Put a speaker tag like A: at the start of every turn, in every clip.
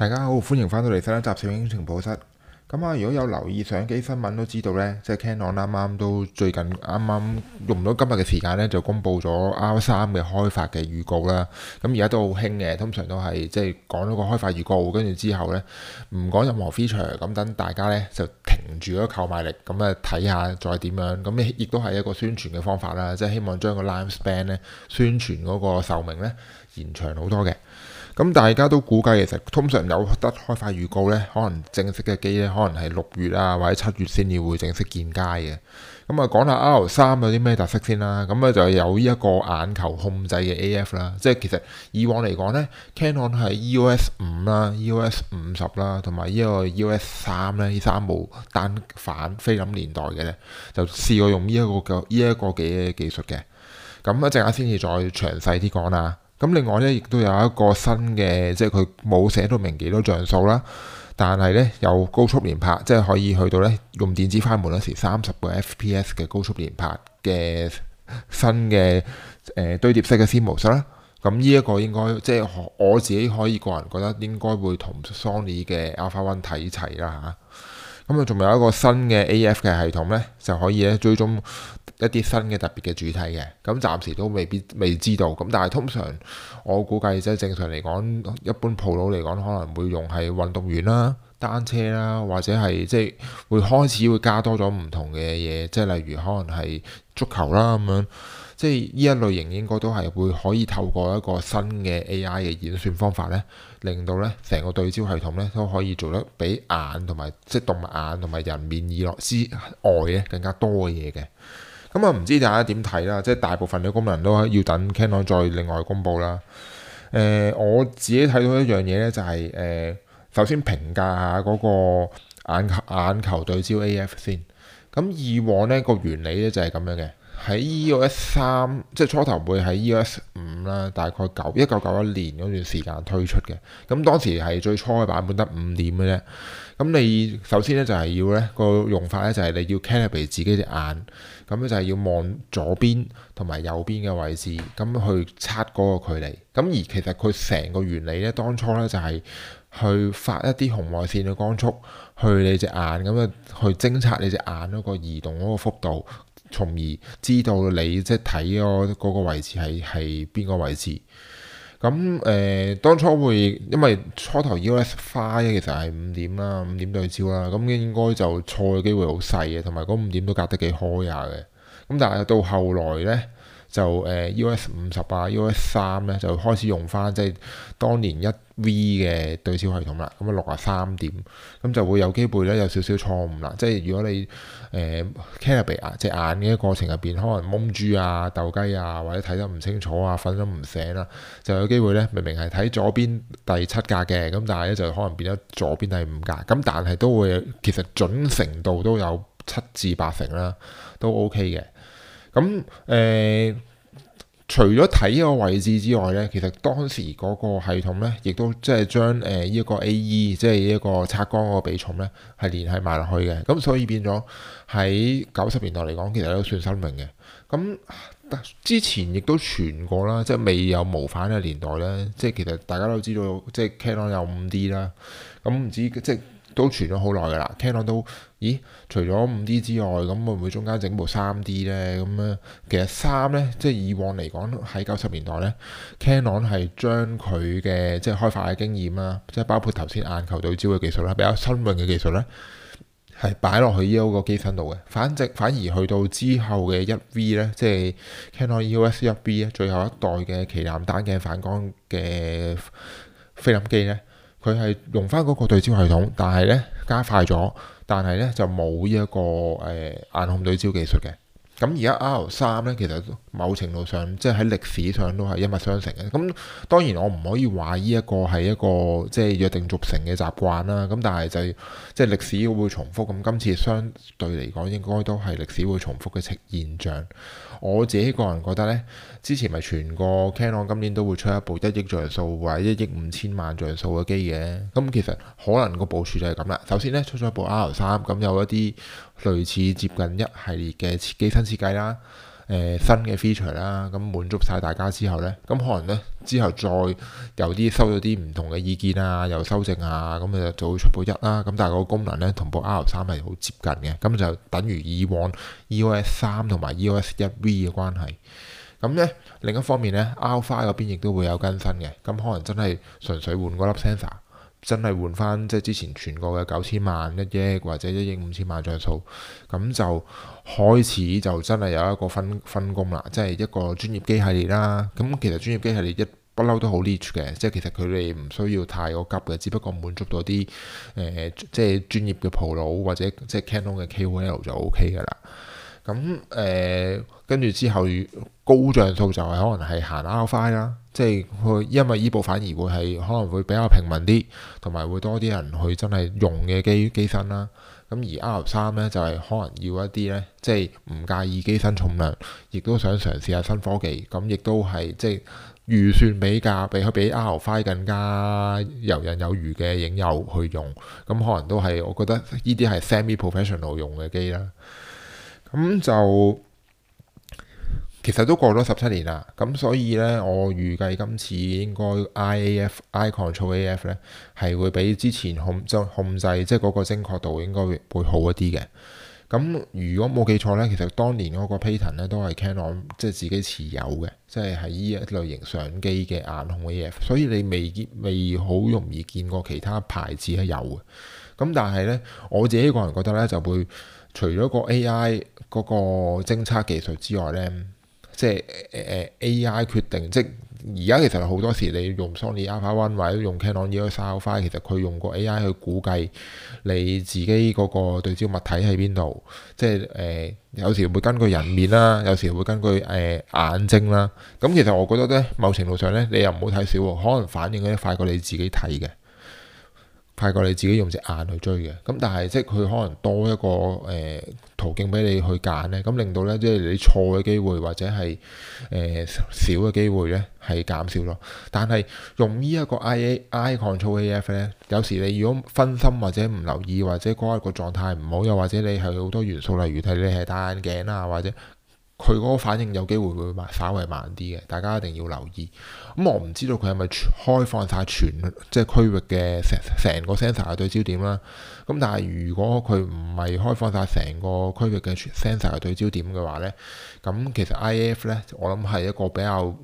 A: 大家好，歡迎翻到嚟新一集攝影情報室。咁啊，如果有留意相機新聞都知道呢，即係 Canon 啱啱都最近啱啱用唔到今日嘅時間呢，就公布咗 R3 嘅開發嘅預告啦。咁而家都好興嘅，通常都係即係講咗個開發預告，跟住之後呢，唔講任何 feature，咁等大家呢就停住咗購買力，咁啊睇下再點樣。咁亦都係一個宣傳嘅方法啦，即係希望將個 lifespan 呢宣傳嗰個壽命呢延長好多嘅。咁大家都估計其實通常有得開發預告呢，可能正式嘅機呢，可能係6月啊或者7月先至會正式見街嘅。咁啊講下 R3 有啲咩特色先啦。咁啊就有呢一個眼球控制嘅 AF 啦，即係其實以往嚟講呢 Canon 係 EOS 5啦、EOS 50啦同埋呢個 EOS 3呢，呢三部單反菲林年代嘅呢，就試過用呢一個嘅技術嘅。咁一陣間先至再詳細啲講啦。咁另外咧，亦都有一個新嘅，即係佢冇寫到明幾多像素啦，但係咧有高速連拍，即係可以去到咧用電子快門嗰時30個 FPS 嘅高速連拍嘅新嘅堆疊式嘅 CMOS 啦。咁呢一個應該即係我自己可以個人覺得應該會同 Sony 嘅 Alpha One 睇齊啦嚇。咁啊，仲有一個新嘅 AF 嘅系統咧，就可以咧追蹤一啲新嘅特別嘅主題嘅。咁暫時都未知道。咁但係通常我估計即係正常嚟講，一般 Pro 嚟講可能會用係運動員啦、單車啦，或者係即係會開始會加多咗唔同嘅嘢，即係例如可能係足球啦咁樣。即係呢一類型應該都係會可以透過一個新嘅 AI 嘅演算方法咧，令到咧成個對焦系統咧都可以做得比眼同埋即係動物眼同埋人面以內之外咧更加多嘅嘢嘅。咁啊唔知大家點睇啦？即係大部分嘅功能都要等 Canon 再另外公佈啦。我自己睇到一樣嘢咧，就係首先評價下嗰個眼球對焦 AF 先。咁以往咧個原理咧就係咁樣嘅。喺 EOS 3即係初頭會喺 EOS 5啦，大概1991年嗰段時間推出嘅。咁當時係最初嘅版本得5點嘅啫。咁你首先咧就係要咧個用法咧就係你要 calibrate 自己隻眼，咁咧就係要望左邊同埋右邊嘅位置，咁去測嗰個距離。咁而其實佢成個原理咧，當初咧就係去發一啲紅外線嘅光速去你隻眼，咁啊去偵測你隻眼嗰個移動嗰個幅度。從而知道你即係睇嗰個位置係邊個位置。咁當初會因為初頭 EOS 5其實係5點啦，5點對焦啦，咁應該就錯嘅機會好細嘅，同埋嗰5點都隔得幾開下嘅。咁但係到後來咧，就EOS 50啊 EOS 3咧就開始用翻即係當年1V 嘅對焦系統啦，咁啊63點，咁就會有機會咧有少少錯誤啦。即係如果你calibrate 隻眼嘅過程入邊，可能蒙豬啊、鬥雞啊，或者睇得唔清楚啊、瞓得唔醒啦，就有機會咧明明係睇左邊第7格嘅，咁但係咧就可能變咗左邊第5格，咁但係都會其實準程度都有7至8成啦，都 OK 嘅。咁除咗睇呢個位置之外咧，其實當時嗰個系統咧，亦都即係將呢一個 AE 即係一個測光嗰個比重咧，係連繫埋落去嘅。咁所以變咗喺90年代嚟講，其實都算新穎嘅。咁之前亦都傳過啦，即係未有無反嘅年代咧，即係其實大家都知道，即係 Canon 有5D 啦。咁唔知即係都傳咗好耐㗎啦。Canon 都除咗5D 之外，咁會唔會中間整部3D 咧？咁咧，其實3咧，即係以往嚟講喺90年代咧 ，Canon 係將佢嘅即係開發嘅經驗啦，即係包括頭先眼球對焦嘅技術啦，比較新穎嘅技術咧，係擺落去呢個機身度嘅。反而去到之後嘅1V 咧，即係 Canon EOS 1V 咧，最後一代嘅旗艦單鏡反光嘅菲林機咧，佢係用翻嗰個對焦系統，但係咧加快咗。但係咧就冇呢一個眼控對焦技術嘅。咁而家 R3咧，其實某程度上即係喺歷史上都係一脈相承嘅。咁當然我唔可以話呢一個係一個即係約定俗成嘅習慣啦。咁但係即係歷史會重複。咁今次相對嚟講，應該都係歷史會重複嘅現象。我自己個人覺得咧，之前咪傳過 Canon 今年都會出一部1億像素或者1億5000萬像素嘅機嘅。咁其實可能個部署就係咁啦。首先咧出咗一部 R3，咁有一啲類似接近一系列嘅機身設計啦。 新嘅 feature 啦，咁滿足晒大家之後呢，咁可能呢，之後再有啲收到啲唔同嘅意見啊，又修正啊，咁就會出部1啦。咁但係個功能呢，同部 R3係好接近嘅，咁就等於以往 EOS 3同埋 EOS 1V 嘅關係。咁呢，另一方面呢 R5 嗰邊亦都會有更新嘅，咁可能真係純粹換嗰粒 sensor。真係換翻即係之前傳過嘅9000萬1億或者1億5000萬像素，咁就開始就真係有一個分工啦，即係一個專業機系列啦。咁其實專業機系列一不嬲都好 niche 嘅，即係其實佢哋唔需要太過急嘅，只不過滿足到啲即係專業嘅 Pro 或者即係 Canon 嘅 KOL 就 OK 噶啦。咁跟住之後高像素就係可能係行 R5 啦，即係佢因為依部反而會係可能會比較平民啲，同埋會多啲人去真係用嘅機身啦。咁而 R3 咧就係可能要一啲咧，即係唔介意機身重量，亦都想嘗試下新科技，咁亦都係即係預算比 R5 更加游刃有餘嘅影友去用，咁可能都係我覺得呢啲係 semi-professional 用嘅機啦。咁就其實都過咗17年啦，咁所以呢，我預計今次應該 Eye Control AF 呢係會比之前控制即係嗰個精確度應該會好一啲嘅。咁如果冇記錯呢，其實當年嗰個 patent 呢都係 Canon 即係自己持有嘅，即係喺呢一類型相機嘅眼控 AF，所以你未好容易見過其他牌子係有嘅。咁但係呢，我自己個人覺得呢，就會除咗個 AI 嗰個偵測技術之外呢，即係AI 決定，即係而家其實好多時你用 Sony Alpha One 或者用 Canon EOS R5，其實佢用個 AI 去估計你自己嗰個對焦物體喺邊度，即係有時會根據人面啦，有時會根據眼睛啦。咁其實我覺得呢，某程度上呢，你又唔好睇少喎，可能反應咧快過你自己睇嘅。快過你自己用隻眼去追嘅，咁但係即係佢可能多一個途徑俾你去揀咧，咁令到咧即係你錯嘅機會或者係少嘅機會咧係減少咯。但係用呢一個 Eye Control AF 咧，有時你如果分心或者唔留意，或者嗰一個狀態唔好，又或者你係好多元素，例如睇你係戴眼鏡啊，或者佢嗰個反應有機會稍微慢啲嘅，大家一定要留意。咁我唔知道佢係咪開放晒即係區域嘅成個 sensor 嘅對焦點啦。咁但係如果佢唔係開放晒成個區域嘅 sensor 嘅對焦點嘅話呢，咁其實 IF 呢，我諗係一個比較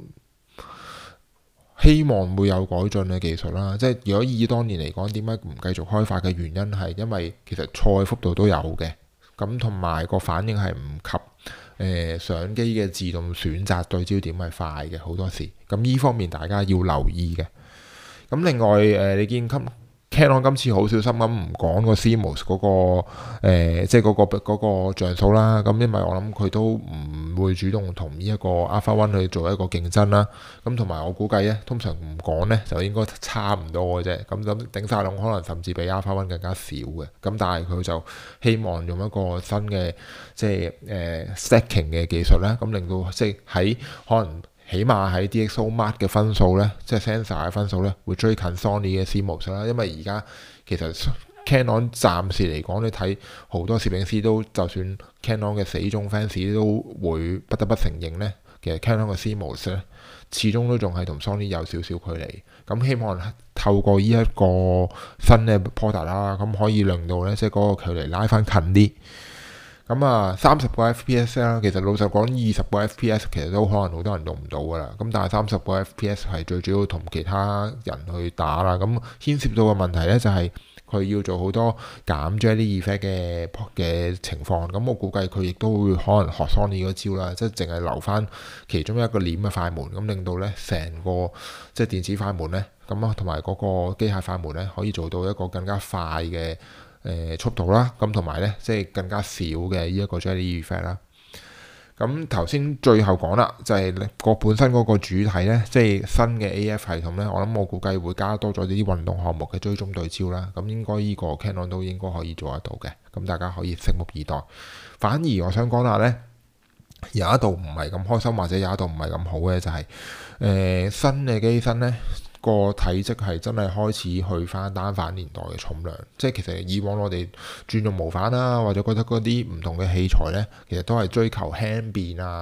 A: 希望會有改進嘅技術啦。即係如果以當年嚟講，點解唔繼續開發嘅原因係因為其實錯嘅幅度都有嘅，咁同埋個反應係唔及相機嘅自動選擇對焦點係快嘅好多時，咁呢方面大家要留意嘅。咁另外你見 Canon 今次好小心咁唔講個 CMOS 嗰個即係嗰個像素啦。咁因為我諗佢都唔會主動同呢一個 Alpha One 去做一個競爭啦。咁同埋我估計咧，通常唔講咧就應該差唔多嘅啫。咁頂晒籠可能甚至比 Alpha One 更加少嘅。咁但係佢就希望用一個新嘅即係stacking 嘅技術咧，咁令到即係喺可能起碼喺 DxOMark 嘅分數咧，即係 sensor 嘅分數咧，會追近 Sony 嘅 CMOS 啦。因為而家其實 Canon 暫時嚟講，你睇好多攝影師都，就算 Canon 嘅死忠 fans 都會不得不承認咧，其實 Canon 嘅 CMOS 咧，始終都仲係同 Sony 有少少距離。咁希望透過呢一個新嘅 product 啦，咁可以令到咧，即係嗰個距離拉翻近啲。咁30個 FPS 啦，其實老實講20個 FPS 其實都可能好多人用唔到噶啦。咁但係30個 FPS 係最主要同其他人去打啦。咁牽涉到嘅問題咧就係佢要做好多減 Jelly Effect 嘅情況。咁我估計佢亦都會可能學 Sony 嗰招啦，即係淨係留翻其中一個簾嘅快門，咁令到咧成個即係電子快門咧，咁同埋嗰個機械快門咧可以做到一個更加快嘅速度啦，咁同埋咧，即係更加少嘅呢一個 Jelly Effect 啦。咁頭先最後講啦，就係個本身嗰個主體咧，即係新嘅 AF 系統咧，我估計會加多咗啲運動項目嘅追蹤對焦啦。咁應該呢個 Canon 都應該可以做得到嘅。咁大家可以拭目以待。反而我想講下咧，有一度唔係咁開心，或者有一度唔係咁好嘅就係新嘅機身咧，個體積係真係開始去翻單反年代嘅重量，即係其實以往我哋轉用無反啦，或者覺得嗰啲唔同嘅器材呢，其實都係追求輕便啊，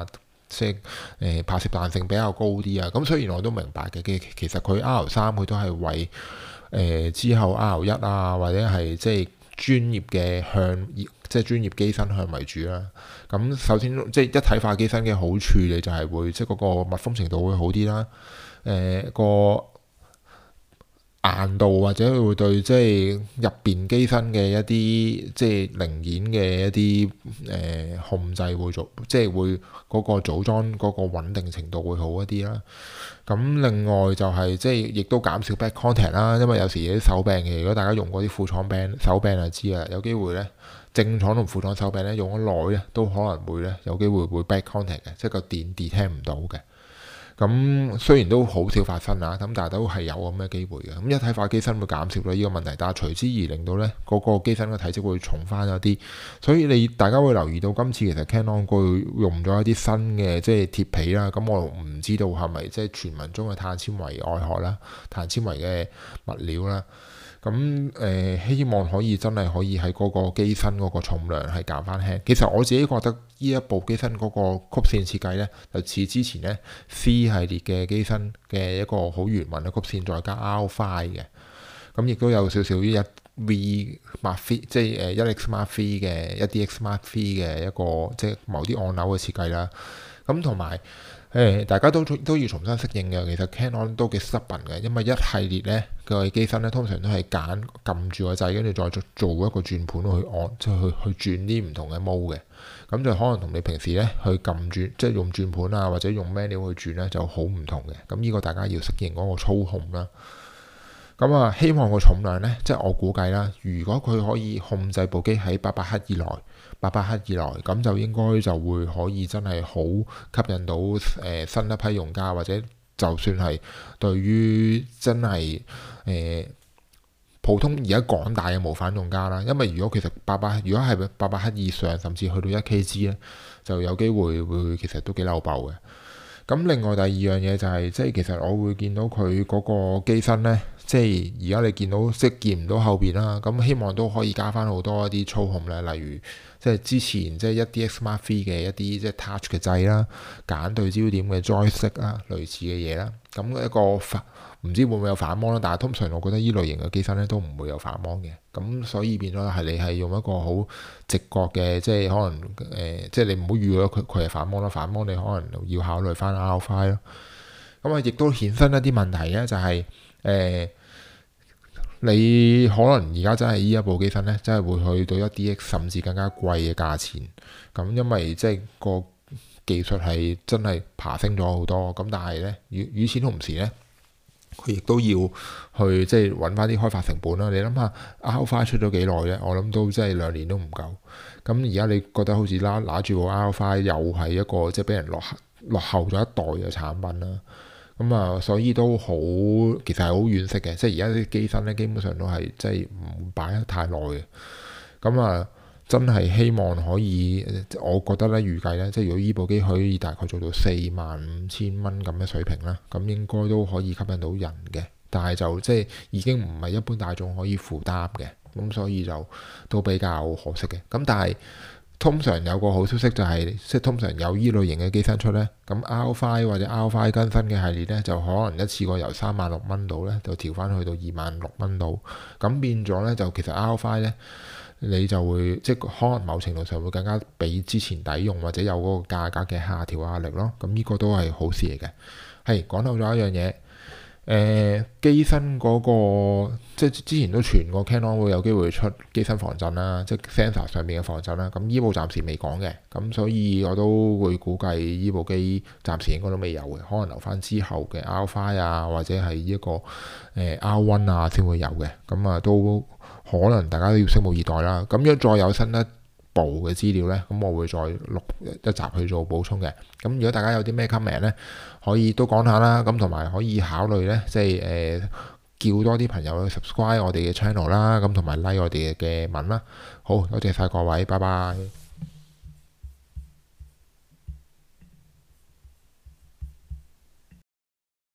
A: 即係拍攝彈性比較高啲啊。咁雖然我都明白嘅，其實佢 R3 佢都係為之後 R1 啊，或者係即係專業嘅向，即係專業機身向為主啦。咁首先即係一體化機身嘅好處，你就係會即係嗰個密封程度會好啲啦。個硬度或者會對即係入邊機身嘅一啲即係零件嘅一啲控制會做，即係會嗰個組裝嗰個穩定程度會好一啲啦。咁另外就係即係亦都減少 back contact 啦，因為有時啲手柄嘅，如果大家用過啲副廠柄手柄就知啦，有機會咧正廠同副廠手柄咧用咗耐咧都可能會咧有機會 back contact 嘅，即係個電 detect 唔到嘅。咁雖然都好少發生啊，咁但係都係有咁嘅機會嘅。咁一體化機身會減少咗呢個問題，但係隨之而令到咧嗰個機身嘅體積會重翻一啲。所以大家會留意到今次其實 Canon 佢用咗一啲新嘅即係鐵皮啦。咁我唔知道係咪即係傳聞中嘅碳纖維外殼啦、碳纖維嘅物料啦。咁希望可以真係可以喺嗰個機身嗰個重量係減翻輕。其實我自己覺得呢一部機身嗰個曲線設計咧，就似之前咧 C 系列嘅機身嘅一個好圓潤嘅曲線，再加 R5 嘅。咁亦都有少少一 V Mark III 即係1X Mark III嘅1DX Mark III嘅一個即係某啲按鈕嘅設計啦。咁同埋大家都要重新適應嘅。其實 Canon 都幾 stubborn 嘅，因為一系列咧嘅機身咧通常都係撳住個掣，跟住再做一個轉盤去按，即係去轉啲唔同嘅 mode 嘅。咁就可能同你平時咧去撳轉，即係用轉盤啊或者用 manual 去轉咧就好唔同嘅。咁呢個大家要適應嗰個操控啦。咁啊，希望個重量咧，即係我估計啦，如果佢可以控制部機喺800克以內，800克以內，咁就應該就會可以真係好吸引到新一批用家，或者就算係對於真係普通而家廣大嘅無反用家啦。因為如果其實如果係800克以上，甚至去到1kg 咧，就有機會其實都幾漏爆嘅。咁另外第二樣嘢就係即係其實我會見到佢嗰個機身咧。即係而家你見到即係見唔到後邊啦，咁希望都可以加翻好多一啲操控咧，例如即係之前即係1DX Mark III嘅一啲即係 touch 嘅掣啦、揀對焦點嘅 joystick 啦、類似嘅嘢啦。咁一個唔知會唔會有反光啦，但係通常我覺得呢類型嘅機身咧都唔會有反光嘅。咁所以變咗係你係用一個好直覺嘅，即係可能即係你唔好預咗佢係反光啦，反光你可能要考慮翻 R5 咯。咁啊，亦都衍生一啲問題咧，就係你可能而家真係呢一部機身咧，真係會去到1DX甚至更加貴嘅價錢。咁因為即係個技術係真係爬升咗好多。咁但係咧，與此同時咧，佢亦都要去即係揾翻啲開發成本啦。你諗下 R5 出咗幾耐咧？我諗都真係2年都唔夠。咁而家你覺得好似拿住部 R5 又係一個即係俾人落後咗一代嘅產品啦。咁啊，所以都好，其實係好惋惜嘅。即係而家啲機身咧，基本上都係即係唔擺得太耐嘅。咁啊，真係希望可以，我覺得咧預計咧，即係如果依部機可以大概做到45,000蚊咁嘅水平啦，咁應該都可以吸引到人嘅。但係就即係已經唔係一般大眾可以負擔嘅，咁所以就都比較可惜嘅。咁但係通常有個好消息就係，即係通常有依類型嘅機身出咧，咁 R5 或者 R5 更新嘅系列咧，就可能一次過由36,000蚊度咧，就調翻去到26,000蚊度。咁變咗咧，就其實 R5 咧，你就會即係可能某程度上會更加比之前抵用，或者有嗰個價格嘅下調壓力咯。咁呢個都係好事嚟嘅。係講到咗一樣嘢。機身嗰個即係之前都傳過 Canon 會有機會出機身防震啦，即係 sensor 上面嘅防震啦。咁依部暫時未講嘅，咁所以我都會估計依部機暫時應該都未有嘅，可能留翻之後嘅 R5 啊，或者係一個R1 啊先會有嘅。咁啊都可能大家都要拭目以待啦。咁樣再有新一部嘅資料咧，咁我會再錄一集去做補充嘅。咁如果大家有啲咩 comment 咧，可以都講下啦。咁同埋可以考慮咧，即係叫多啲朋友去 subscribe 我哋嘅 channel 啦。咁同埋 like 我哋嘅文啦。好，多謝晒各位，拜拜。